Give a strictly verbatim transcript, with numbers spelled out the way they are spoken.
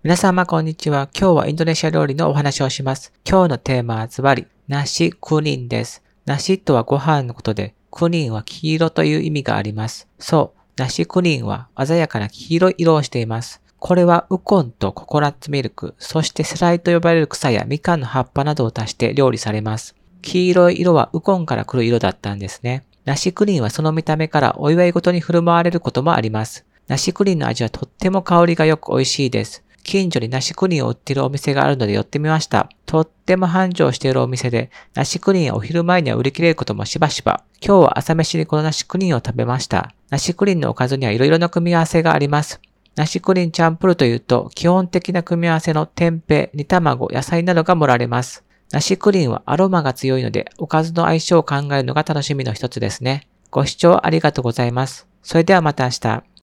皆様こんにちは。今日はインドネシア料理のお話をします。今日のテーマはズバリ、ナシクニンです。ナシとはご飯のことで、クニンは黄色という意味があります。そう、ナシクニンは鮮やかな黄色い色をしています。これはウコンとココナッツミルク、そしてセライと呼ばれる草やみかんの葉っぱなどを足して料理されます。黄色い色はウコンから来る色だったんですね。ナシクニンはその見た目からお祝い事に振る舞われることもあります。ナシクニンの味はとっても香りが良く美味しいです。近所にナシクニンを売っているお店があるので寄ってみました。とっても繁盛しているお店で、ナシクニンはお昼前には売り切れることもしばしば。今日は朝飯にこのナシクニンを食べました。ナシクニンのおかずにはいろいろな組み合わせがあります。ナシクニンチャンプルというと、基本的な組み合わせの天平、煮卵、野菜などが盛られます。ナシクリンはアロマが強いので、おかずの相性を考えるのが楽しみの一つですね。ご視聴ありがとうございます。それではまた明日。